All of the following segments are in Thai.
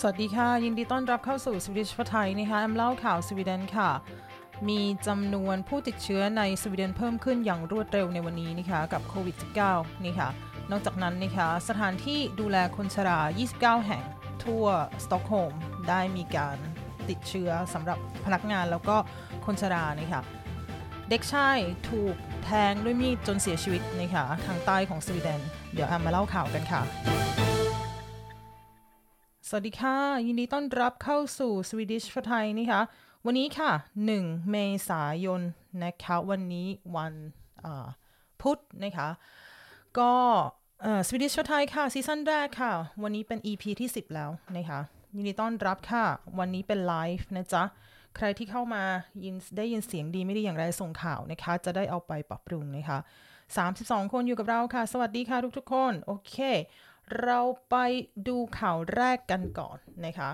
วัสดีค่ะยินดีต้อนรับเข้าสู่สวีดิชไทยนะคะแอมเล่าข่าวสวีเดนค่ะมีจำนวนผู้ติดเชื้อในสวีเดนเพิ่มขึ้นอย่างรวดเร็วในวันนี้นะคะกับโควิด -19 นี่ค่ะนอกจากนั้นนะคะสถานที่ดูแลคนชรา29 แห่งทั่วสต็อกโฮล์มได้มีการติดเชื้อสำหรับพนักงานแล้วก็คนชรานะคะเด็กชายถูกแทงด้วยมีดจนเสียชีวิตนะคะทางใต้ของสวีเดนเดี๋ยวแอมมาเล่าข่าวกันค่ะสวัสดีค่ะยินดีต้อนรับเข้าสู่ Swedish for Thai นะคะวันนี้ค่ะ1 เมษายนนะคะวันนี้วันพุธนะคะก็Swedish for Thai ค่ะซีซั่นแรกค่ะวันนี้เป็น EP ที่10แล้วนะคะยินดีต้อนรับค่ะวันนี้เป็นไลฟ์นะจ๊ะใครที่เข้ามาได้ยินเสียงดีไม่ดีอย่างไรส่งข่าวนะคะจะได้เอาไปปรับปรุงนะคะ32 คนอยู่กับเราค่ะสวัสดีค่ะทุกๆคนโอเคเราไปดูข่าวแรกกันก่อนนะคะ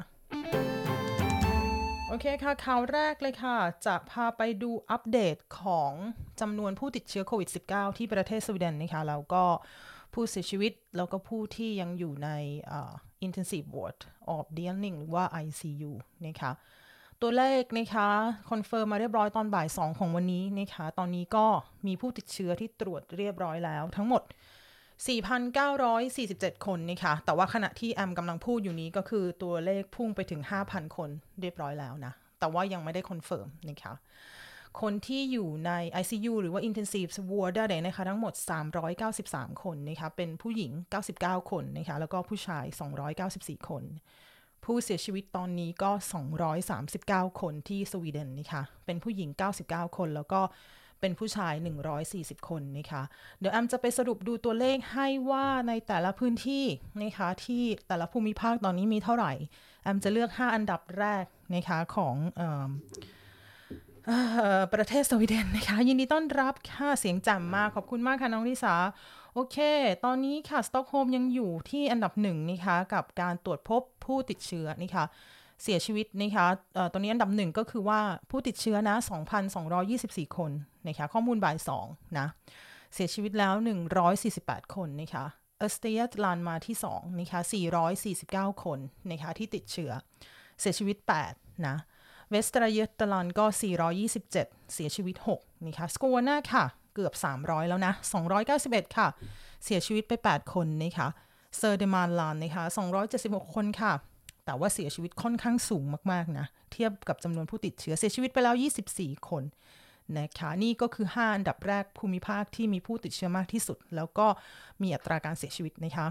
โอเคค่ะข่าวแรกเลยค่ะจะพาไปดูอัปเดตของจำนวนผู้ติดเชื้อโควิด -19 ที่ประเทศสวีเดนนะคะแล้วก็ผู้เสียชีวิตแล้วก็ผู้ที่ยังอยู่ในintensive ward of Dianing หรือว่า ICU นะคะตัวเลขนะคะคอนเฟิร์มมาเรียบร้อยตอนบ่าย 2ของวันนี้นะคะตอนนี้ก็มีผู้ติดเชื้อที่ตรวจเรียบร้อยแล้วทั้งหมด4,947 คนนะคะแต่ว่าขณะที่แอมกำลังพูดอยู่นี้ก็คือตัวเลขพุ่งไปถึง 5,000 คนเรียบร้อยแล้วนะแต่ว่ายังไม่ได้คอนเฟิร์มนะคะคนที่อยู่ใน ICU หรือว่า Intensive Ward ได้นะคะทั้งหมด393 คนนะคะเป็นผู้หญิง99 คนนะคะแล้วก็ผู้ชาย294 คนผู้เสียชีวิตตอนนี้ก็239 คนที่สวีเดนนะคะเป็นผู้หญิง99 คนแล้วก็เป็นผู้ชาย140 คนนะคะเดี๋ยวแอมจะไปสรุปดูตัวเลขให้ว่าในแต่ละพื้นที่นะคะที่แต่ละภูมิภาคตอนนี้มีเท่าไหร่แอมจะเลือก5อันดับแรกนะคะของประเทศสวีเดนนะคะยินดีต้อนรับค่ะเสียงแจ่มมากขอบคุณมากค่ะน้องลิสาโอเคตอนนี้ค่ะสต็อกโฮล์มยังอยู่ที่อันดับ1นะคะกับการตรวจพบผู้ติดเชื้อนะคะเสียชีวิตนะคะตอนนี้อันดับ1ก็คือว่าผู้ติดเชื้อนะ 2,224 คนนะคะข้อมูลบ่าย2นะเสียชีวิตแล้ว148 คนนะคะออสเตรียลันมาที่2นะคะ449 คนนะคะที่ติดเชื้อเสียชีวิต8นะเวสตราเยตลันก็427เสียชีวิต6นะคะสโกวาน่าค่ะเกือบ300แล้วนะ291ค่ะเสียชีวิตไป8คนนะคะเซอร์เดมานลานนะคะ276คนค่ะแต่ว่าเสียชีวิตค่อนข้างสูงมากๆนะเทียบกับจำนวนผู้ติดเชื้อเสียชีวิตไปแล้ว24คนนะคะนี่ก็คือ5อันดับแรกภูมิภาคที่มีผู้ติดเชื้อมากที่สุดแล้วก็มีอัตราการเสียชีวิตนะคะ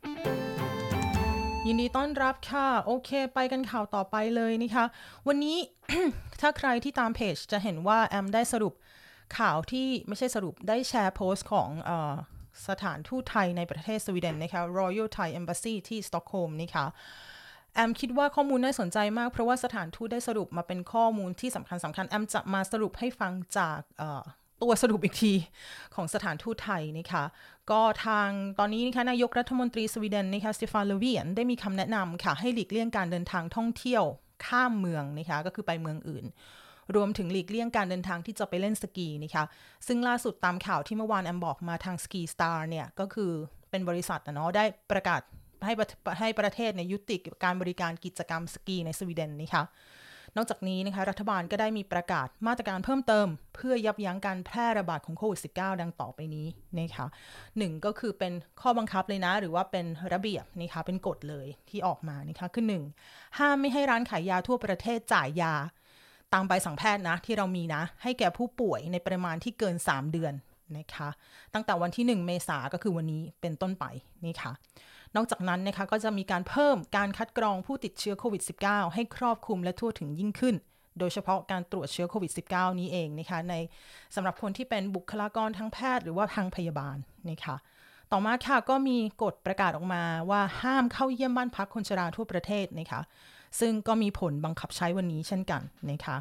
ยินดีต้อนรับค่ะโอเคไปกันข่าวต่อไปเลยนะคะวันนี้ ถ้าใครที่ตามเพจจะเห็นว่าแอมได้สรุปข่าวที่ไม่ใช่สรุปได้แชร์โพสต์ของสถานทูตไทยในประเทศสวีเดนนะคะ Royal Thai Embassy ที่สต็อกโฮล์มนะคะแอมคิดว่าข้อมูลน่าสนใจมากเพราะว่าสถานทูตได้สรุปมาเป็นข้อมูลที่สำคัญแอมจะมาสรุปให้ฟังจากตัวสรุปอีกทีของสถานทูตไทยนะคะก็ทางตอนนี้นะคะนายกรัฐมนตรีสวีเดนนะคะสเตฟาน โลเวียนได้มีคำแนะนำค่ะให้หลีกเลี่ยงการเดินทางท่องเที่ยวข้ามเมืองนะคะก็คือไปเมืองอื่นรวมถึงหลีกเลี่ยงการเดินทางที่จะไปเล่นสกีนะคะซึ่งล่าสุดตามข่าวที่เมื่อวานแอมบอกมาทาง Ski Star เนี่ยก็คือเป็นบริษัทเนาะได้ประกาศให้ประเทศยุติการบริการกิจกรรมสกีในสวีเดนนะคะนอกจากนี้นะคะรัฐบาลก็ได้มีประกาศมาตรการเพิ่มเติมเพื่อยับยั้งการแพร่ระบาดของโควิด -19 ดังต่อไปนี้นะคะ1ก็คือเป็นข้อบังคับเลยนะหรือว่าเป็นระเบียบนะคะเป็นกฎเลยที่ออกมานะคะคือ1ห้ามไม่ให้ร้านขายยาทั่วประเทศจ่ายยาตามใบสั่งแพทย์นะที่เรามีนะให้แก่ผู้ป่วยในปริมาณที่เกิน3เดือนนะคะตั้งแต่วันที่1เมษายนก็คือวันนี้เป็นต้นไปนี่ค่ะนอกจากนั้นนะคะก็จะมีการเพิ่มการคัดกรองผู้ติดเชื้อโควิด -19 ให้ครอบคลุมและทั่วถึงยิ่งขึ้นโดยเฉพาะการตรวจเชื้อโควิด -19 นี้เองนะคะในสำหรับคนที่เป็นบุคลากรทางแพทย์หรือว่าทางพยาบาลนะคะต่อมาค่ะก็มีกฎประกาศออกมาว่าห้ามเข้าเยี่ยมบ้านพักคนชราทั่วประเทศนะคะซึ่งก็มีผลบังคับใช้วันนี้เช่นกันนะคะ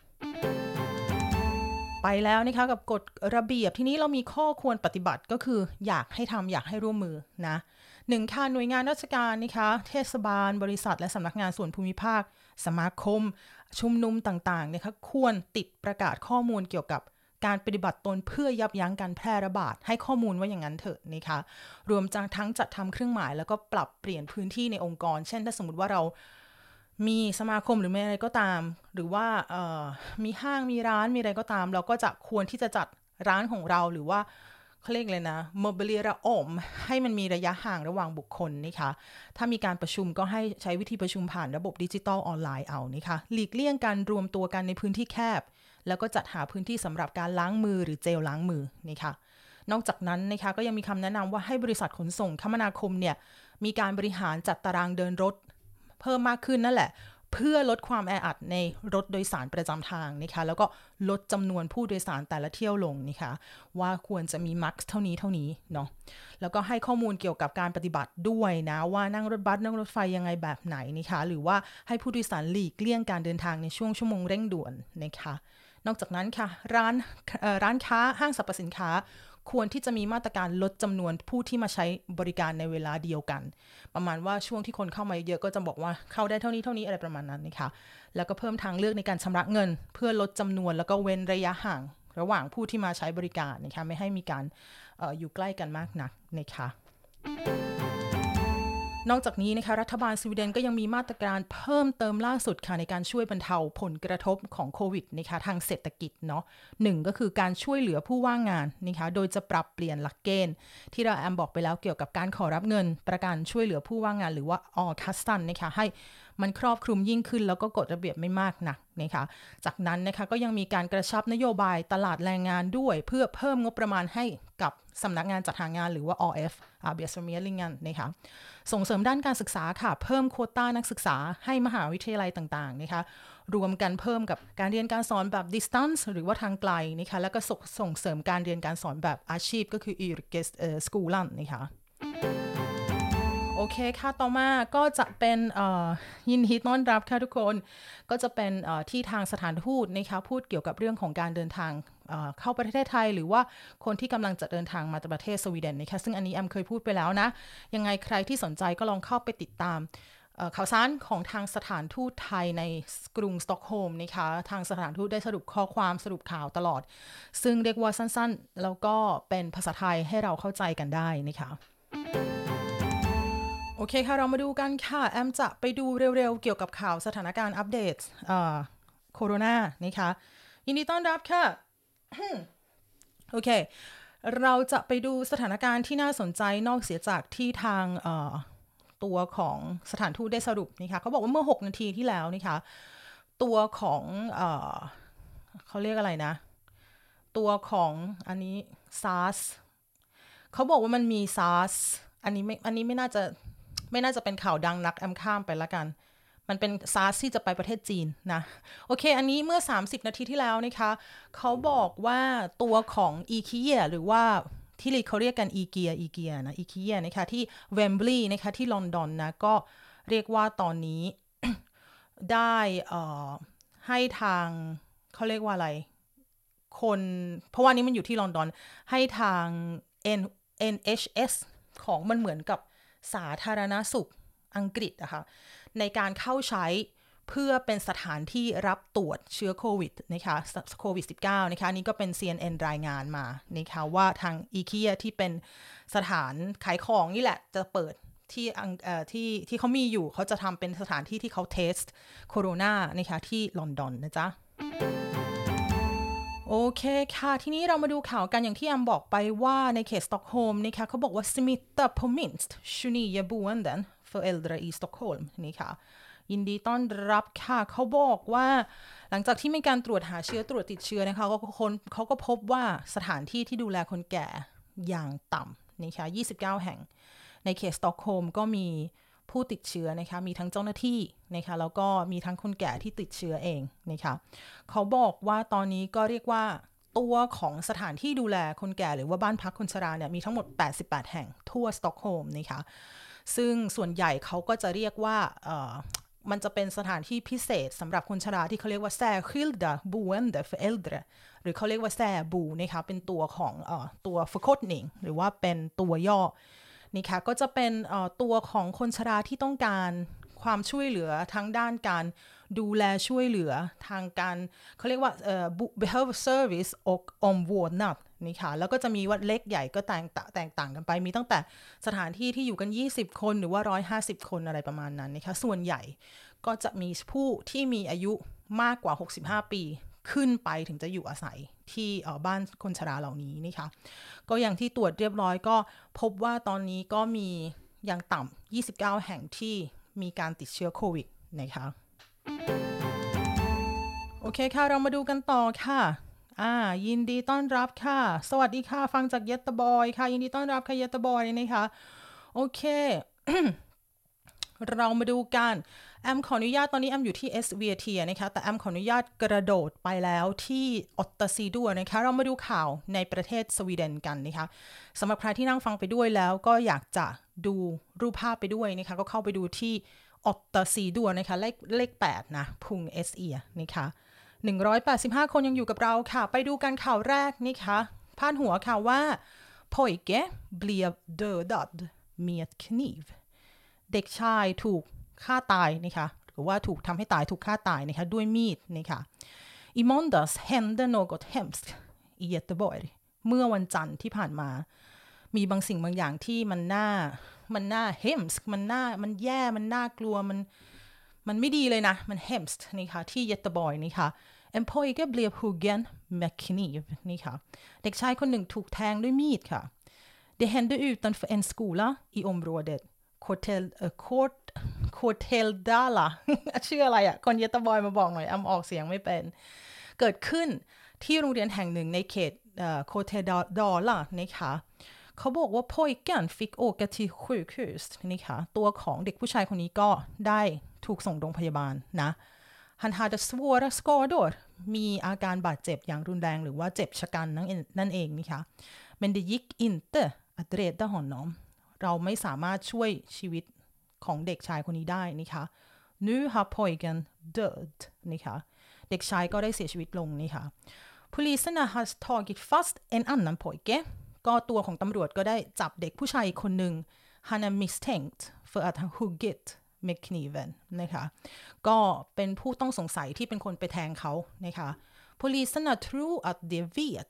ไปแล้วนะคะกับกฎระเบียบที่นี้เรามีข้อควรปฏิบัติก็คืออยากให้ทำอยากให้ร่วมมือนะ1ค่ะหน่วยงานราชการนะคะเทศบาลบริษัทและสำนักงานส่วนภูมิภาคสมาคมชุมนุมต่างๆนะคะควรติดประกาศข้อมูลเกี่ยวกับการปฏิบัติตนเพื่อยับยั้งการแพร่ระบาดให้ข้อมูลว่าอย่างนั้นเถอะนะคะรวมทั้งจัดทำเครื่องหมายแล้วก็ปรับเปลี่ยนพื้นที่ในองค์กรเช่นถ้าสมมติว่าเรามีสมาคมหรือไม่อะไรก็ตามหรือว่ามีห้างมีร้านมีอะไรก็ตามเราก็จะควรที่จะจัดร้านของเราหรือว่าเขาเรียกเลยนะ mobiliaria om ให้มันมีระยะห่างระหว่างบุคคลนะคะถ้ามีการประชุมก็ให้ใช้วิธีประชุมผ่านระบบดิจิตอลออนไลน์เอานะคะหลีกเลี่ยงการรวมตัวกันในพื้นที่แคบแล้วก็จัดหาพื้นที่สำหรับการล้างมือหรือเจลล้างมือนะคะนอกจากนั้นนะคะก็ยังมีคำแนะนำว่าให้บริษัทขนส่งคมนาคมเนี่ยมีการบริหารจัดตารางเดินรถเพิ่มมากขึ้นนั่นแหละเพื่อลดความแออัดในรถโดยสารประจำทางนะคะแล้วก็ลดจำนวนผู้โดยสารแต่ละเที่ยวลงนะคะว่าควรจะมีมักซ์เท่านี้เนาะแล้วก็ให้ข้อมูลเกี่ยวกับการปฏิบัติด้วยนะว่านั่งรถบัสนั่งรถไฟยังไงแบบไหนนะคะหรือว่าให้ผู้โดยสารหลีกเลี่ยงการเดินทางในช่วงชั่วโมงเร่งด่วนนะคะนอกจากนั้นค่ะร้านค้าห้างสรรพสินค้าควรที่จะมีมาตรการลดจำนวนผู้ที่มาใช้บริการในเวลาเดียวกันประมาณว่าช่วงที่คนเข้ามาเยอะก็จะบอกว่าเข้าได้เท่านี้อะไรประมาณนั้นนะคะแล้วก็เพิ่มทางเลือกในการชำระเงินเพื่อลดจำนวนแล้วก็เว้นระยะห่างระหว่างผู้ที่มาใช้บริการนะคะไม่ให้มีการอยู่ใกล้กันมากนักนะคะนอกจากนี้นะคะรัฐบาลสวีเดนก็ยังมีมาตรการเพิ่มเติมล่าสุดค่ะในการช่วยบรรเทาผลกระทบของโควิดนะคะทางเศรษฐกิจเนาะหนึ่งก็คือการช่วยเหลือผู้ว่างงานนะคะโดยจะปรับเปลี่ยนหลักเกณฑ์ที่เราบอกไปแล้วเกี่ยวกับการขอรับเงินประกันช่วยเหลือผู้ว่างงานหรือว่าออคัสตันนะคะให้มันครอบคลุมยิ่งขึ้นแล้วก็กฎระเบียบไม่มากนักนะคะจากนั้นนะคะก็ยังมีการกระชับนโยบายตลาดแรงงานด้วยเพื่อเพิ่มงบประมาณให้กับสำนักงานจัดหางานหรือว่า RF Arbetsförmedlingen นะคะส่งเสริมด้านการศึกษาค่ะเพิ่มโควต้านักศึกษาให้มหาวิทยาลัยต่างๆนะคะรวมกันเพิ่มกับการเรียนการสอนแบบ distance หรือว่าทางไกลนะคะแล้วก็ส่งเสริมการเรียนการสอนแบบอาชีพก็คือ yrkesskolan นะคะโอเคค่ะต่อมาก็จะเป็นยินดีต้อนรับค่ะทุกคนก็จะเป็นที่ทางสถานทูตนะคะพูดเกี่ยวกับเรื่องของการเดินทางเข้าประเทศไทยหรือว่าคนที่กำลังจะเดินทางมาประเทศสวีเดนนะคะซึ่งอันนี้แอมเคยพูดไปแล้วนะยังไงใครที่สนใจก็ลองเข้าไปติดตามข่าวสารของทางสถานทูตไทยในกรุงสต็อกโฮล์มนะคะทางสถานทูตได้สรุปข้อความสรุปข่าวตลอดซึ่งเรียกว่าสั้นๆแล้วก็เป็นภาษาไทยให้เราเข้าใจกันได้นะคะโอเคค่ะเรามาดูกันค่ะแอมจะไปดูเร็วๆเกี่ยวกับข่าวสถานการณ์อัปเดตโคโรนานะคะยินดีต้อนรับค่ะ โอเคเราจะไปดูสถานการณ์ที่น่าสนใจนอกเสียจากที่ทางตัวของสถานทูตได้สรุปนะคะเขาบอกว่าเมื่อ6นาทีที่แล้วนะคะตัวของเขาเรียกอะไรนะตัวของอันนี้ SARS เขาบอกว่ามันมี SARS อันนี้ไม่น่าจะเป็นข่าวดังนักแอมข้ามไปละกันมันเป็น SARS ที่จะไปประเทศจีนนะโอเคอันนี้เมื่อ30นาทีที่แล้วนะคะเขาบอกว่าตัวของ IKEA หรือว่าที่เขาเรียกกัน IKEA นะ IKEA นะคะที่เวมบลีย์นะคะที่ลอนดอนนะก็เรียกว่าตอนนี้ ได้ให้ทางเขาเรียกว่าอะไรคนเพราะว่านี้มันอยู่ที่ลอนดอนให้ทาง NHS ของมันเหมือนกับสาธารณสุขอังกฤษนะคะในการเข้าใช้เพื่อเป็นสถานที่รับตรวจเชื้อโควิดนะคะโควิด -19 นะคะนี่ก็เป็น CNN รายงานมานะคะว่าทาง IKEA ที่เป็นสถานขายของนี่แหละจะเปิดที่เขามีอยู่เขาจะทำเป็นสถานที่ที่เขาเทสโคโรนานะคะที่ลอนดอนนะจ๊ะโอเคค่ะทีนี้เรามาดูข่าวกันอย่างที่แอมบอกไปว่าในเขตสต็อกโฮล์มนะคะเขาบอกว่า smitta på minst 29 boenden för äldre i Stockholm นี่ค่ะยินดีต้อนรับค่ะเขาบอกว่าหลังจากที่มีการตรวจหาเชื้อตรวจติดเชื้อนะคะเขาก็พบว่าสถานที่ที่ดูแลคนแก่อย่างต่ำนะคะ29แห่งในเขตสต็อกโฮล์มก็มีผู้ติดเชื้อนะคะมีทั้งเจ้าหน้าที่นะคะแล้วก็มีทั้งคนแก่ที่ติดเชื้อเองนะคะเขาบอกว่าตอนนี้ก็เรียกว่าตัวของสถานที่ดูแลคนแก่หรือว่าบ้านพักคนชราเนี่ยมีทั้งหมด88แห่งทั่วสต็อกโฮล์มนะคะซึ่งส่วนใหญ่เขาก็จะเรียกว่ามันจะเป็นสถานที่พิเศษสำหรับคนชราที่เขาเรียกว่า särskilda boende för äldre หรือเขาเรียกว่าแซบูนะคะเป็นตัวของตัว förkortning หรือว่าเป็นตัวย่อนี่ค่ะก็จะเป็นตัวของคนชราที่ต้องการความช่วยเหลือทั้งด้านการดูแลช่วยเหลือทางการเขาเรียกว่าbehov service och omvårdnad นี่ค่ะแล้วก็จะมีวัดเล็กใหญ่ก็แตกต่างกันไปมีตั้งแต่สถานที่ที่อยู่กัน20คนหรือว่า150คนอะไรประมาณนั้นนะคะส่วนใหญ่ก็จะมีผู้ที่มีอายุมากกว่า65ปีขึ้นไปถึงจะอยู่อาศัยที่บ้านคนชราเหล่านี้นะคะก็อย่างที่ตรวจเรียบร้อยก็พบว่าตอนนี้ก็มีอย่างต่ำ29แห่งที่มีการติดเชื้อโควิดนะคะโอเคค่ะเรามาดูกันต่อค่ะยินดีต้อนรับค่ะสวัสดีค่ะฟังจากเยตบอยค่ะยินดีต้อนรับค่ะเยตบอยนะคะโอเค เรามาดูกันแอมขออนุญาตตอนนี้แอมอยู่ที่ SVT นะคะแต่แอมขออนุญาตกระโดดไปแล้วที่ออตตาซีดัวนะคะเรามาดูข่าวในประเทศสวีเดนกันนะคะสำหรับใครที่นั่งฟังไปด้วยแล้วก็อยากจะดูรูปภาพไปด้วยนะคะก็เข้าไปดูที่ออตตาซีดัวนะคะเลข8นะพุง SE นะคะ185คนยังอยู่กับเราค่ะไปดูกันข่าวแรกนะคะพาดหัวข่าวว่า Pojke blev dödad med knivเด็กชายถูกฆ่าตายนะคะหรือว่าถูกทำให้ตายถูกฆ่าตายนะคะด้วยมีดนะคะ I måndags hände något hemskt i Göteborg เมื่อวันจันทร์ที่ผ่านมามีบางสิ่งบางอย่างที่มันน่า hemskt มันแย่มันน่ากลัวมันไม่ดีเลยนะมัน hemskt นะคะที่ Göteborg นะคะ En pojke blev huggen med kniv นะคะเด็กชายคนหนึ่งถูกแทงด้วยมีดค่ะ Det hände utanför en skola i området Korteldala ชื่ออะไรอ่ะคนเยตบอยมาบอกหน่อยออกเสียงไม่เป็นเกิดขึ้นที่โรงเรียนแห่งหนึ่งในเขตKorteldala นะคะเขาบอกว่า pojken fick åka till sjukhus นะคะตัวของเด็กผู้ชายคนนี้ก็ได้ถูกส่งโรงพยาบาลนะ Han hade svåra skador มีอาการบาดเจ็บอย่างรุนแรงหรือว่าเจ็บชะกันนั่นเองนะคะ Men det gick inte att rädda honomเราไม่สามารถช่วยชีวิตของเด็กชายคนนี้ได้นะคะ Nu har pojken död นะคะเด็กชายก็ได้เสียชีวิตลงนะคะ Poliserna har tagit fast en annan pojke ก็ตัวของตำรวจก็ได้จับเด็กผู้ชายอีกคนหนึ่ง Han är misstänkt för att han huggit med kniven นะคะก็เป็นผู้ต้องสงสัยที่เป็นคนไปแทงเขานะคะ Poliserna tror att de vet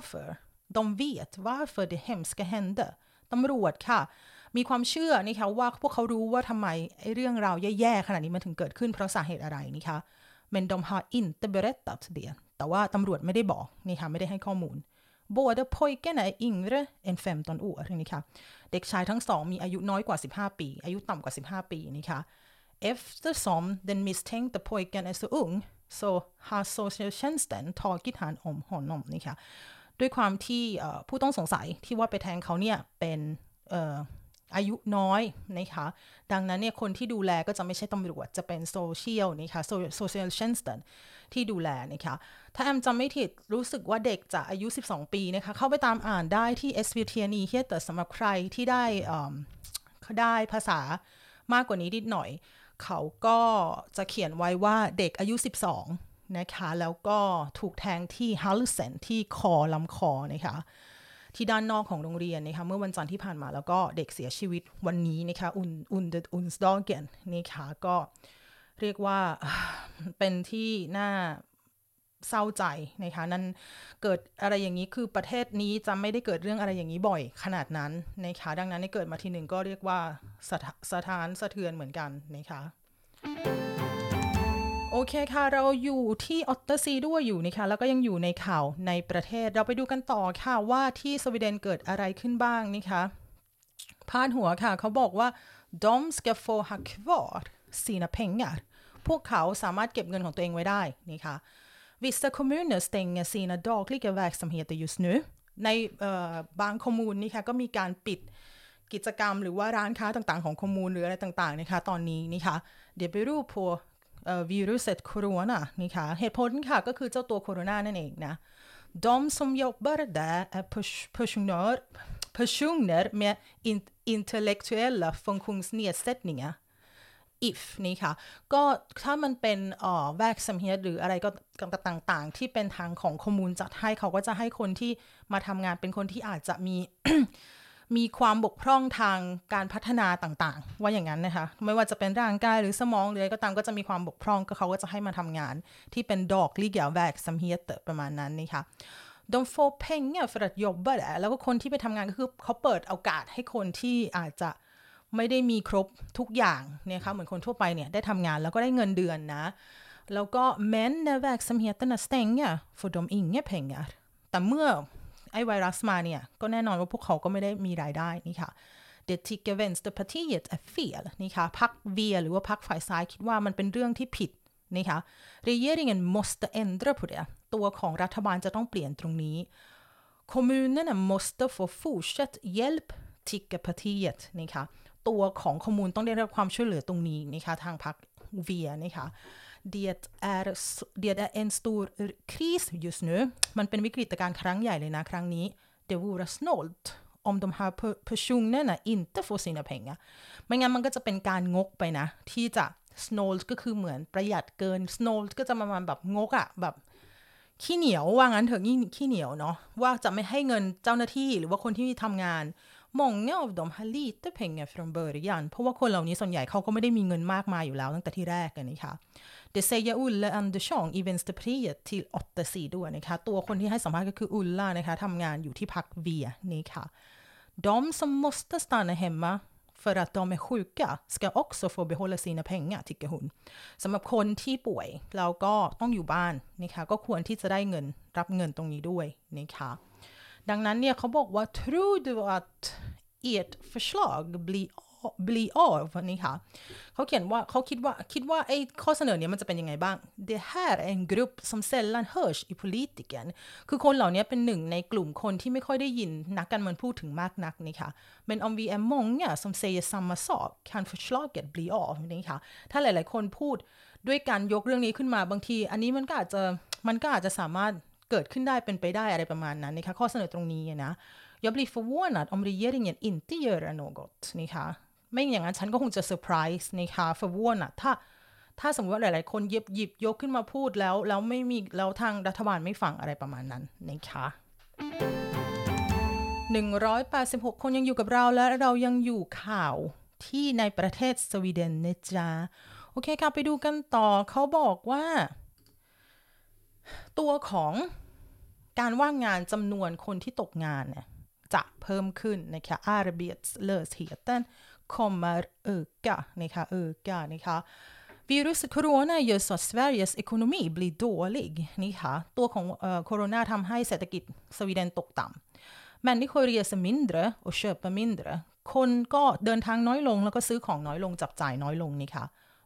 varför det hemska händeตำรวจค่ะมีความเชื่อนะคะว่าพวกเขารู้ว่าทำไมเรื่องราวแย่ๆขนาดนี้มันถึงเกิดขึ้นเพราะสาเหตุอะไรนะคะ Men de har inte berättat det แต่ว่าตำรวจไม่ได้บอกนะคะไม่ได้ให้ข้อมูล Båda pojkarna är yngre än 15 år นะคะเด็กชายทั้งสองมีอายุน้อยกว่า15ปีอายุต่ำกว่า15ปีนะคะ Eftersom den misstänkte pojken är så ung så har socialtjänsten tagit hand om honom นะคะด้วยความที่ผู้ต้องสงสัยที่ว่าไปแทงเขาเนี่ยเป็นอายุน้อยนะคะดังนั้นเนี่ยคนที่ดูแลก็จะไม่ใช่ตำรวจจะเป็นโซเชียลนะคะโซเชียลเชนสตันที่ดูแลนะคะถ้าแอมจำไม่ผิดรู้สึกว่าเด็กจะอายุ12ปีนะคะเข้าไปตามอ่านได้ที่ SVT นี้เฮียแต่สำหรับใครที่ได้ภาษามากกว่านี้นิดหน่อยเขาก็จะเขียนไว้ว่าเด็กอายุ12นะคะแล้วก็ถูกแทงที่ฮัลเซนที่ลำคอนะคะที่ด้านนอกของโรงเรียนนะคะเมื่อวันจันทร์ที่ผ่านมาแล้วก็เด็กเสียชีวิตวันนี้นะคะonsdagenนะคะก็เรียกว่าเป็นที่น่าเศร้าใจนะคะนั่นเกิดอะไรอย่างนี้คือประเทศนี้จะไม่ได้เกิดเรื่องอะไรอย่างนี้บ่อยขนาดนั้นนะคะดังนั้นเกิดมาทีหนึ่งก็เรียกว่าสถานสะเทือนเหมือนกันนะคะโอเคค่ะเราอยู่ที่ออตเตอร์ซีด้วยอยู่นะคะแล้วก็ยังอยู่ในข่าวในประเทศเราไปดูกันต่อค่ะว่าที่สวีเดนเกิดอะไรขึ้นบ้างนะคะพาดหัวค่ะเขาบอกว่า de ska få ha kvar sina pengar พวกเขาสามารถเก็บเงินของตัวเองไว้ได้นะคะ vissa kommuner stänger sina dagliga verksamheter just nu ในบางคอมมูนนี่ค่ะก็มีการปิดกิจกรรมหรือว่าร้านค้าต่างๆของคอมมูนหรืออะไรต่างๆนะคะตอนนี้นะคะdet beror på viruset corona นี่ค่ะเหตุผลค่ะก็คือเจ้าตัวโคโรนานั่นเองนะ de som jobbar där är personer med intellektuella funktionsnedsättningar if นี่ค่ะก็ถ้ามันเป็นverksamhet หรืออะไรก็ต่างๆที่เป็นทางของคอมมูนจัดให้เขาก็จะให้คนที่มาทำงานเป็นคนที่อาจจะมี มีความบกพร่องทางการพัฒนาต่างๆว่าอย่างนั้นนะคะไม่ว่าจะเป็นร่างกายหรือสมองหรืออะไรก็ตามก็จะมีความบกพร่องก็เขาก็จะให้มาทำงานที่เป็นdagliga verksamheterประมาณนั้นนี่ค่ะ de får pengar för att jobba där แล้วก็คนที่ไปทำงานก็คือเขาเปิดโอกาสให้คนที่อาจจะไม่ได้มีครบทุกอย่างเนี่ยค่ะเหมือนคนทั่วไปเนี่ยได้ทำงานแล้วก็ได้เงินเดือนนะแล้วก็men när verksamheterna stänger får de inga pengar แต่เมื่อไอ้ไวรัสมาเนี่ยก็แน่นอนว่าพวกเขาก็ไม่ได้มีรายได้นี่ค่ะ Det tycker Vänsterpartiet är fel นี่ค่ะพรรค V หรือว่าพรรคฝ่ายซ้ายคิดว่ามันเป็นเรื่องที่ผิดนี่ค่ะ Regeringen måste ändra på det ตัวของรัฐบาลจะต้องเปลี่ยนตรงนี้ Kommunerna måste få fortsatt hjälp tycker partiet นี่ค่ะตัวของคอมมูนต้องได้รับความช่วยเหลือตรงนี้นี่ค่ะทางพรรค V นี่ค่ะdet är en stor kris just nu มันเป็นวิกฤตการณ์ครั้งใหญ่เลยนะครั้งนี้ det vore snålt om de här personerna inte får sina pengar ไม่งั้นมันก็จะเป็นการงกไปนะที่จะ snålt ก็คือเหมือนประหยัดเกิน snålt ก็จะประมาณแบบงกอะแบบขี้เหนียวว่างั้นเถอะขี้เหนียวเนาะว่าจะไม่ให้เงินเจ้าหน้าที่หรือว่าคนที่ทำงาน många av dem har lite pengar från början เพราะว่าคนเหล่านี้ส่วนใหญ่เขาก็ไม่ได้มีเงินมากมายอยู่แล้วตั้งแต่ที่แรกนะคะ Det säger Ulla Andersson i Vänsterpartiet till 8 sidor นะคะตัวคนที่ให้สัมภาษณ์ก็คืออุลล่านะคะทำงานอยู่ที่พรรค V นี่ค่ะ De som måste stanna hemma för att de är sjuka ska också få behålla sina pengar tycker hon สำหรับคนที่ป่วยแล้วก็ต้องอยู่บ้านนะคะก็ควรที่จะได้เงินรับเงินตรงนี้ด้วยนะคะดังนั้นเนี่ยเขาบอกว่า tror du att ert förslag bli av นี่ค่ะเขาเขียนว่าเขาคิดว่าไอ้ข้อเสนอเนี้ยมันจะเป็นยังไงบ้าง Det här är en grupp som sällan hörs i politiken คือคนเหล่านี้เป็นหนึ่งในกลุ่มคนที่ไม่ค่อยได้ยินนักการเมืองพูดถึงมากนักนี่ค่ะ Men om vi är många som säger samma sak kan förslaget bli av นี่ค่ะถ้าหลายๆคนพูดด้วยการยกเรื่องนี้ขึ้นมาบางทีอันนี้มันก็อาจจะสามารถเกิดขึ้นได้เป็นไปได้อะไรประมาณนั้นนะคะข้อเสนอตรงนี้นะJag blir förvånad om regeringen inte gör något นี่ค่ะไม่อย่างนั้นฉันก็คงจะเซอร์ไพรส์นะคะ förvånad ถ้าสมมติว่าหลายๆคนหยิบยกขึ้นมาพูดแล้วไม่มีแล้วทางรัฐบาลไม่ฟังอะไรประมาณนั้นนะคะ186คนยังอยู่กับเราและเรายังอยู่ข่าวที่ในประเทศสวีเดนนะจ๊ะโอเคค่ะไปดูกันต่อเขาบอกว่าตัวของการว่างงานจำนวนคนที่ตกงานเนี่ยจะเพิ่มขึ้นนะคะ arbetslösheten kommer öka นะคะviruset corona gör så att Sveriges ekonomi blir dålig นะคะตัวของโคโรนาทำให้เศรษฐกิจสวีเดนตกต่ำ människor reser mindre och köper mindre คนก็เดินทางน้อยลงแล้วก็ซื้อของน้อยลงจับจ่ายน้อยลงนะคะ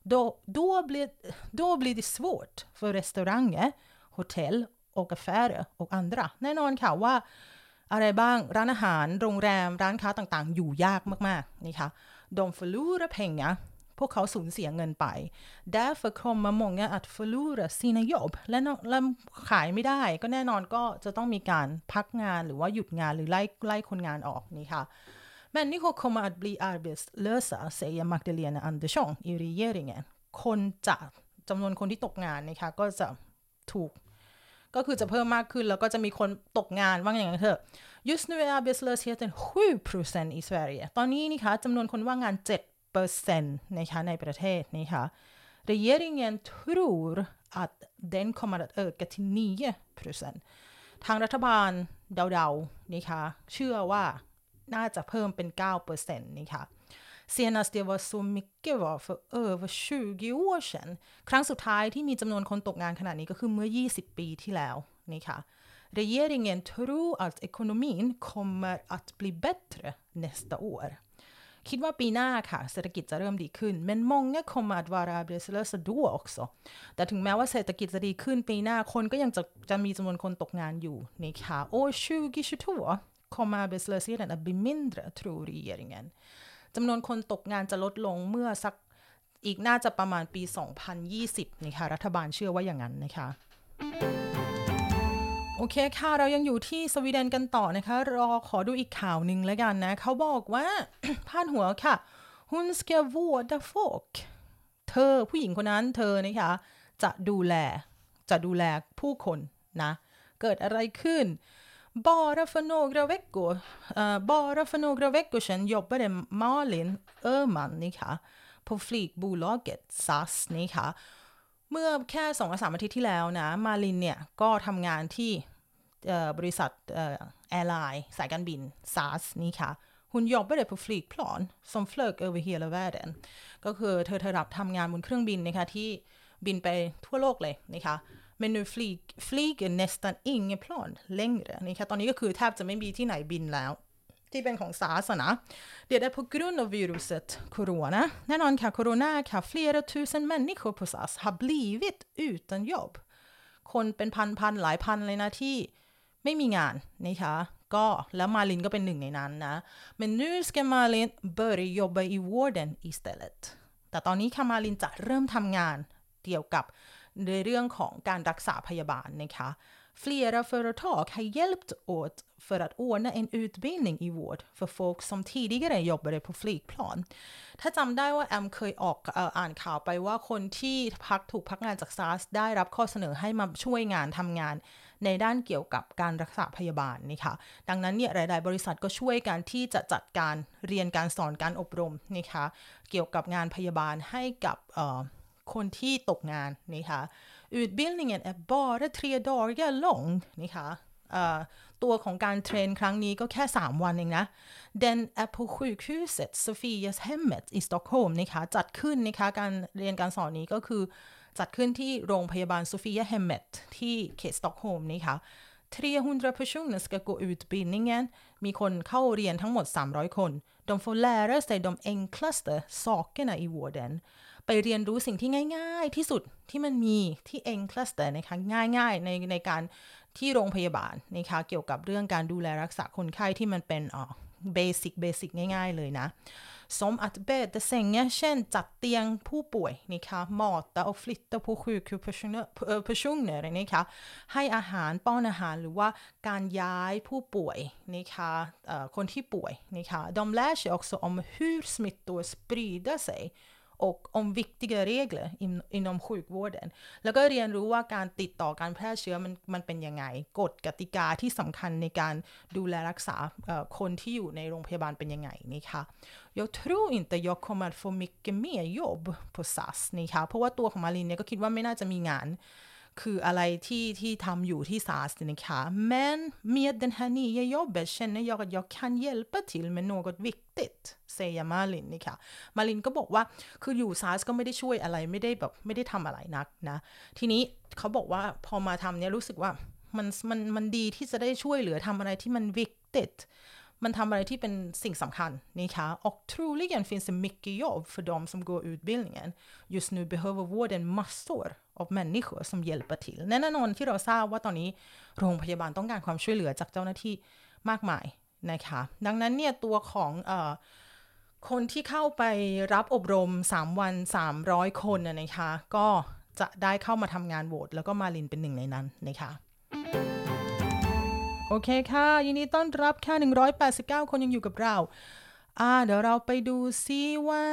då blir det svårt för restauranger hotell och affärer och andra แน่นอนค่ะว่าอะไรบ้างร้านอาหารโรงแรมร้านค้าต่างๆอยู่ยากมากๆนี่ค่ะ de förlorar pengar พวกเขาสูญเสียเงินไป därför kommer många att förlora sina jobb และขายไม่ได้ก็แน่นอนก็จะต้องมีการพักงานหรือว่าหยุดงานหรือไล่คนงานออกนี่ค่ะ människor kommer att bli arbetslösa säger Magdalena Andersson i regeringen คนจะจำนวนคนที่ตกงานนะคะก็จะถูกก็คือจะเพิ่มมากขึ้นแล้วก็จะมีคนตกงานว่าอย่างนั้นเถอะ Just nu är arbetslösheten 7% i Sverige ตอนนี้นี่ค่ะจำนวนคนว่างงาน 7% นะคะในประเทศนี่ค่ะ Regeringen tror att den kommer att öka till 9% ทางรัฐบาลเดาๆนี่ค่ะเชื่อว่าน่าจะเพิ่มเป็น 9% นี่ค่ะSenast det var så mycket var för över 20 år sedan ครั้งสุดท้ายที่มีจำนวนคนตกงานขนาดนี้ก็คือเมื่อ20ปีที่แล้วนี่ค่ะ Regeringen tror att ekonomin kommer att bli bättre nästa år คิดว่าปีหน้าค่ะเศรษฐกิจจะเริ่มดีขึ้น men många kommer att vara arbetslösa då också แต่ถึงแม้ว่าเศรษฐกิจจะดีขึ้นปีหน้าคนก็ยังจะมีจำนวนคนตกงานอยู่นี่ค่ะ år 2022 kommer arbetslösheten att bli mindre tror regeringenจำนวนคนตกงานจะลดลงเมื่อสักอีกน่าจะประมาณปี2020นี่ค่ะรัฐบาลเชื่อว่าอย่างนั้นนะคะโอเคค่ะเรายังอยู่ที่สวีเดนกันต่อนะคะขอดูอีกข่าวหนึ่งแล้วกันนะเขาบอกว่า พาดหัวค่ะ Hon ska vårda folk เธอผู้หญิงคนนั้นเธอนะคะจะดูแลผู้คนนะเกิดอะไรขึ้นBara för några veckor sedan jobbade Malin Öhman på flygbolaget SAS นะคะเมื่อแค่2-3 อาทิตย์ที่แล้วนะมาลินเนี่ยก็ทำงานที่บริษัทแอร์ไลน์สายการบิน SAS นี่ค่ะ Hon jobbade på flygplan som flög över hela världen ก็คือเธอรับทำงานบนเครื่องบินนะคะที่บินไปทั่วโลกเลยนะคะ men nu flyger nästan inget plan längre นะคะตอนนี้ก็คือแทบจะไม่มีที่ไหนบินแล้วที่เป็นของ SARS นะ Det är på grund av viruset corona แน่นอนค่ะ corona ค่ะ flera tusen människor på SAS har blivit utan jobb คนเป็นพันหลายพันเลยนะที่ไม่มีงานนะคะก็แล้วมาลินก็เป็นหนึ่งในนั้นนะ men nu ska Malin börja jobba i vården istället แต่ตอนนี้ค่ะมาลินจะเริ่มทำงานเกี่ยวกับในเรื่องของการรักษาพยาบาลนะคะ Flera företag har hjälpt åt för att ordna en utbildning i vård för folk som tidigare jobbade på flygplan ถ้าจำได้ว่าแอมเคยอ่านข่าวไปว่าคนที่ถูกพักงานจาก SARS ได้รับข้อเสนอให้มาช่วยงานทำงานในด้านเกี่ยวกับการรักษาพยาบาลนะคะดังนั้นเนี่ยหลายๆบริษัทก็ช่วยกันที่จะจัดการเรียนการสอนการอบรมนะคะเกี่ยวกับงานพยาบาลให้กับคนที่ตกงานนะคะ Utbildningen är bara 3 dagar lång นะคะตัวของการเทรนครั้งนี้ก็แค่3วันเองนะ Den är på sjukhuset Sofias hemmet i Stockholm นะคะจัดขึ้นนะคะการเรียนการสอนนี้ก็คือจัดขึ้นที่โรงพยาบาล Sofia Hemmet ที่เขตสต็อกโฮล์มนะคะ300 personer ska gå utbildningen มีคนเข้าเรียนทั้งหมด300คน De får lära sig de enklaste sakerna i vården ไปเรียนรู้สิ่งที่ง่ายๆที่สุดที่มันมีที่ enklaste นะคะง่ายๆในการที่โรงพยาบาลนะคะเกี่ยวกับเรื่องการดูแลรักษาคนไข้ที่มันเป็นเบสิกง่ายๆเลยนะ som att bädda sängar เช่นจัดเตียงผู้ป่วยนะคะ mata och flytta på sjukhuspersoner นะคะให้อาหารป้อนอาหารหรือว่าการย้ายผู้ป่วยนะคะคนที่ป่วยนะคะ de lär sig också om hur smittor sprider sig och om viktiga regler inom sjukvården แล้วก็เรียนรู้ว่าการติดต่อการแพร่เชื้อมันเป็นยังไงกฎกติกาที่สำคัญในการดูแลรักษาคนที่อยู่ในโรงพยาบาลเป็นยังไงนะคะ Jag tror inte jag kommer få mycket mer jobb på SAS นะคะเพราะว่าตัวของมารินเนี่ยก็คิดว่าไม่น่าจะมีงานคืออะไรที่ทำอยู่ที่ SAS นะคะ men med den här nya jobbet känner jag att jag kan hjälpa till med något viktigt säger Malin นะคะมารินก็บอกว่าคืออยู่ SAS ก็ไม่ได้ช่วยอะไรไม่ได้ทำอะไรนักนะทีนี้เขาบอกว่าพอมาทำเนี่ยรู้สึกว่ามันดีที่จะได้ช่วยเหลือทำอะไรที่มัน viktigtมันทำอะไรที่เป็นสิ่งสำคัญนะคะ och troligen finns det mycket jobb för de som går utbildningen just nu behöver vården massor av människor som hjälper till แน่นอนที่เราทราบว่าตอนนี้โรงพยาบาลต้องการความช่วยเหลือจากเจ้าหน้าที่มากมายนะคะดังนั้นเนี่ยตัวของคนที่เข้าไปรับอบรม3วัน300คนนะคะก็จะได้เข้ามาทำงานโหวตแล้วก็มาลินเป็นหนึ่งในนั้นนะคะโอเคค่ะยินดีต้อนรับค่ะ189คนยังอยู่กับเราเดี๋ยวเราไปดูซิว่า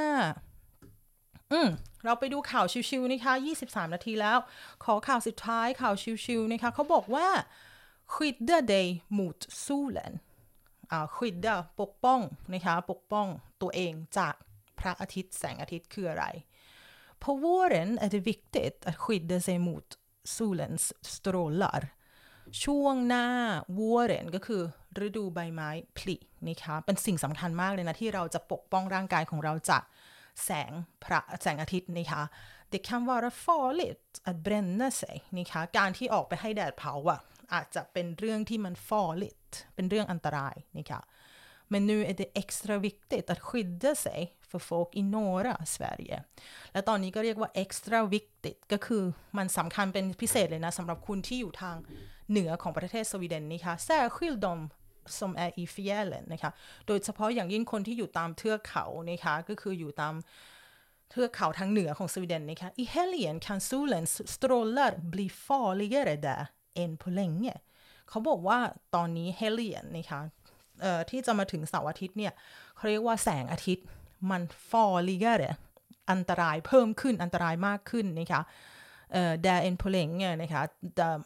เราไปดูข่าวชิวๆนะคะ23นาทีแล้วขอข่าวสุดท้ายข่าวชิวๆนะคะเขาบอกว่า skydda dig mot solen skydda ปกป้องนะคะปกป้องตัวเองจากพระอาทิตย์แสงอาทิตย์คืออะไร På våren är det viktigt att skydda sig mot solens strålarช่วงหน้า våren ก็คือฤดูใบไม้ผลินะคะเป็นสิ่งสำคัญมากเลยนะที่เราจะปกป้องร่างกายของเราจากแสงอาทิตย์นะคะ Det kan vara farligt att bränna sig นะคะการที่ออกไปให้แดดเผาอาจจะเป็นเรื่องที่มัน farligt เป็นเรื่องอันตรายนะคะ Men nu är det extra viktigt att skydda sig för folk i norra Sverige และตอนนี้ก็เรียกว่า extra viktigt ก็คือมันสำคัญเป็นพิเศษเลยนะสำหรับคุณที่อยู่ทางเหนือของประเทศสวีเดนนะคะ särskilt de som är i fjällen นะคะโดยเฉพาะอย่างยิ่งคนที่อยู่ตามเทือกเขานะคะก็คืออยู่ตามเทือกเขาทางเหนือของสวีเดนนะคะ I helgen kan solens strålar bli farligare där än på länge เขาบอกว่าตอนนี้ helgen นะคะที่จะมาถึงเสาร์อาทิตย์เนี่ยเขาเรียกว่าแสงอาทิตย์มัน farligare อันตรายเพิ่มขึ้นอันตรายมากขึ้นนะคะdär än på länge นะคะ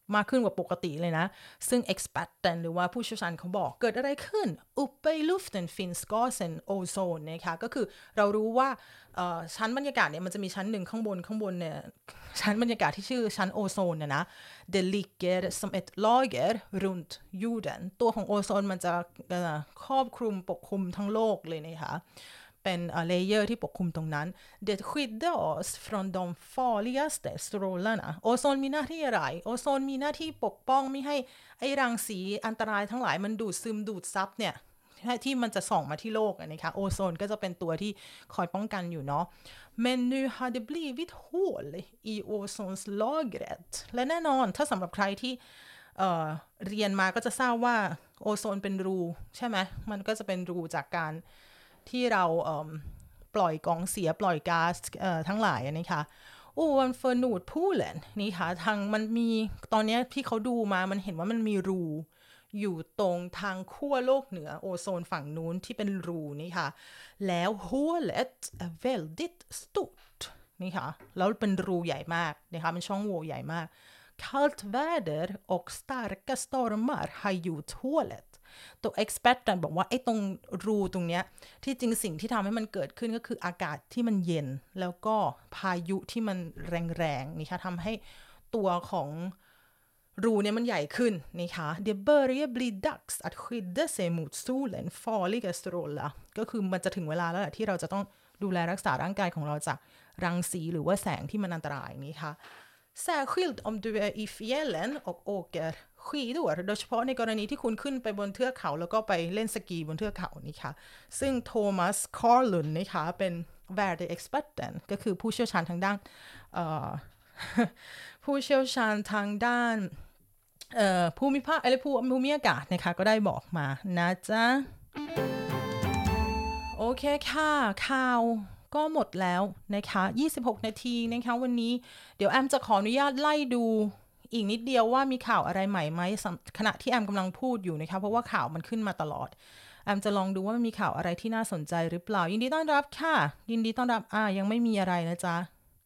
มากขึ้นกว่าปกติเลยนะซึ่ง experten หรือว่าผู้เชี่ยวชาญเขาบอกเกิดอะไรขึ้น uppe i luften finns gasen ozon นะคะก็คือเรารู้ว่าชั้นบรรยากาศเนี่ยมันจะมีชั้นหนึ่งข้างบนเนี่ยชั้นบรรยากาศที่ชื่อชั้นโอโซนนะ det ligger som ett lager runt jorden ตัวของโอโซนมันจะครอบคลุมปกคลุมทั้งโลกเลยนะคะเป็นเลเยอร์ที่ปกคลุมตรงนั้น det skyddar oss från de farligaste strålarna โอโซนมีหน้าที่อะไรโอโซนมีหน้าที่ปกป้องไม่ให้ไอ้รังสีอันตรายทั้งหลายมันดูดซึมดูดซับเนี่ยที่มันจะส่องมาที่โลกนะคะโอโซนก็จะเป็นตัวที่คอยป้องกันอยู่เนาะ men nu har det blivit hål i ozonslagret และแน่นอนถ้าสำหรับใครที่เรียนมาก็จะทราบว่าโอโซนเป็นรูใช่ไหมมันก็จะเป็นรูจากการที่เราปล่อยกองเสียปล่อยก๊าซทั้งหลายนะคะovanför Nordpolen นี่ค่ะทางมันมีตอนนี้ที่เขาดูมามันเห็นว่ามันมีรูอยู่ตรงทางขั้วโลกเหนือโอโซนฝั่งนู้นที่เป็นรูนี่ค่ะแล้ว hålet är väldigt stort นี่ค่ะแล้วเป็นรูใหญ่มากนะคะเป็นช่องโหว่ใหญ่มาก kallt väder och starka stormar har gjort håletตัว experten บอกว่าไอ้ตรงรูตรงเนี้ยที่จริงสิ่งที่ทำให้มันเกิดขึ้นก็คืออากาศที่มันเย็นแล้วก็พายุที่มันแรงๆนี่ค่ะทำให้ตัวของรูเนี่ยมันใหญ่ขึ้นนี่ค่ะ det börjar bli dags att skydda sig mot solen farliga strålar ก็คือมันจะถึงเวลาแล้วแหละที่เราจะต้องดูแลรักษาร่างกายของเราจากรังสีหรือว่าแสงที่มันอันตรายนี่ค่ะsärskilt om du är i fjällen och åker skidor โดยเฉพาะในกรณีที่คุณขึ้นไปบนเทือกเขาแล้วก็ไปเล่นสกีบนเทือกเขานี่ค่ะซึ่งโทมัสคอร์ลุนนะคะเป็น väderexperten ก็คือผู้เชี่ยวชาญทางด้านผู้เชี่ยวชาญทางด้านภูมิภาคภูมิอากาศนะคะก็ได้บอกมานะจ๊ะโอเคค่ะข่าวก็หมดแล้วนะคะ26นาทีนะคะวันนี้เดี๋ยวแอมจะขออนุญาตไล่ดูอีกนิดเดียวว่ามีข่าวอะไรใหม่ไหมขณะที่แอมกำลังพูดอยู่นะคะเพราะว่าข่าวมันขึ้นมาตลอดแอมจะลองดูว่ามันมีข่าวอะไรที่น่าสนใจหรือเปล่ายินดีต้อนรับค่ะยินดีต้อนรับยังไม่มีอะไรนะจ๊ะ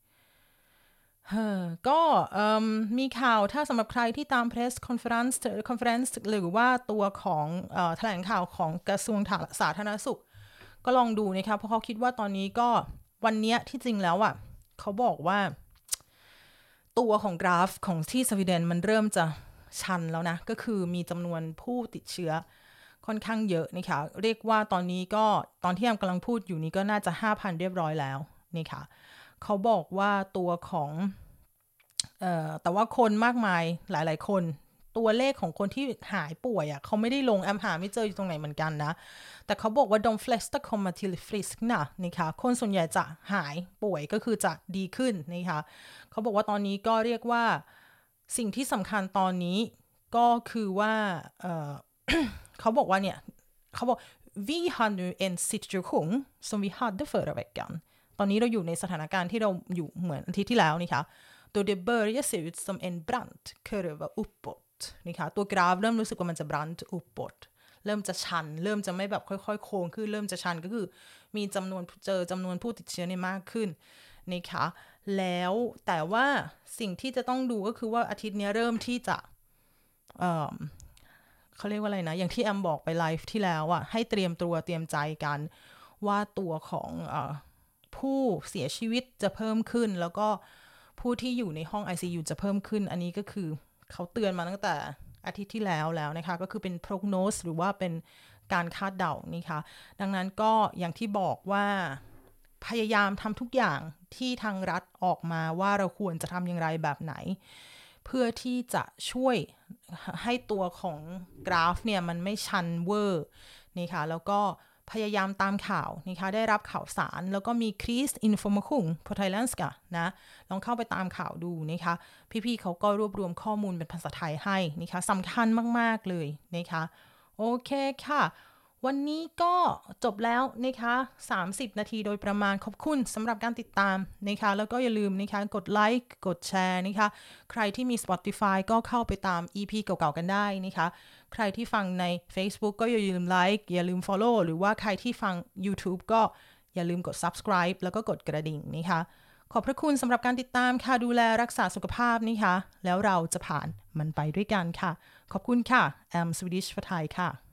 ก็มีข่าวถ้าสำหรับใครที่ตาม press conference หรือว่าตัวของแถลงข่าวของกระทรวงสาธารณสุขก็ลองดูนะคะเพราะเขาคิดว่าตอนนี้ก็วันนี้ที่จริงแล้วเขาบอกว่าตัวของกราฟของที่สวีเดนมันเริ่มจะชันแล้วนะก็คือมีจำนวนผู้ติดเชื้อค่อนข้างเยอะนะคะเรียกว่าตอนนี้ก็ตอนที่แอมกำลังพูดอยู่นี้ก็น่าจะ 5,000 เรียบร้อยแล้วนี่ค่ะเขาบอกว่าตัวของแต่ว่าคนมากมายหลายๆคนตัวเลขของคนที่หายป่วยเขาไม่ได้ลงแอมหาไม่เจออยู่ตรงไหนเหมือนกันนะแต่เขาบอกว่า de flesta kommer till friskna นะคะคนส่วนใหญ่จะหายป่วยก็คือจะดีขึ้นนะคะเขาบอกว่าตอนนี้ก็เรียกว่าสิ่งที่สำคัญตอนนี้ก็คือว่าเขาบอกว่าเนี่ยเขาบอก vi har nu en situation som vi hade förra veckan ตอนนี้เราอยู่ในสถานการณ์ที่เราอยู่เหมือนอาทิตย์ที่แล้วนะคะdå det börjar se ut som en brant kurva uppåt นี่ค่ะตัวกราฟเริ่มรู้สึกว่ามันจะ brant uppåt เริ่มจะชันเริ่มจะไม่แบบค่อยๆโค้งขึ้นเริ่มจะชันก็คือมีจำนวนผู้ติดเชื้อมากขึ้นนะคะแล้วแต่ว่าสิ่งที่จะต้องดูก็คือว่าอาทิตย์นี้เริ่มที่จะเขาเรียกว่าอะไรนะอย่างที่แอมบอกไปไลฟ์ที่แล้วให้เตรียมตัวเตรียมใจกันว่าตัวของผู้เสียชีวิตจะเพิ่มขึ้นแล้วก็ผู้ที่อยู่ในห้อง ICU จะเพิ่มขึ้นอันนี้ก็คือเขาเตือนมาตั้งแต่อาทิตย์ที่แล้วนะคะก็คือเป็น prognose หรือว่าเป็นการคาดเดานี่ค่ะดังนั้นก็อย่างที่บอกว่าพยายามทำทุกอย่างที่ทางรัฐออกมาว่าเราควรจะทำอย่างไรแบบไหนเพื่อที่จะช่วยให้ตัวของกราฟเนี่ยมันไม่ชันเวอร์นี่ค่ะแล้วก็พยายามตามข่าวนะคะได้รับข่าวสารแล้วก็มีคริสอินโฟมคุงพอไทยแลนด์กะนะลองเข้าไปตามข่าวดูนะคะพี่ๆเขาก็รวบรวมข้อมูลเป็นภาษาไทยให้นะคะสำคัญมากๆเลยนะคะโอเคค่ะวันนี้ก็จบแล้วนะคะ30นาทีโดยประมาณขอบคุณสำหรับการติดตามนะคะแล้วก็อย่าลืมนะคะกดไลค์กดแชร์นะคะใครที่มี Spotify ก็เข้าไปตาม EP เก่าๆกันได้นะคะใครที่ฟังใน Facebook ก็อย่าลืมไลค์อย่าลืม Follow หรือว่าใครที่ฟัง YouTube ก็อย่าลืมกด Subscribe แล้วก็กดกระดิ่งนะคะขอบพระคุณสำหรับการติดตามค่ะดูแลรักษาสุขภาพนะคะแล้วเราจะผ่านมันไปด้วยกันค่ะขอบคุณค่ะแอมสวีดิชฟไทยค่ะ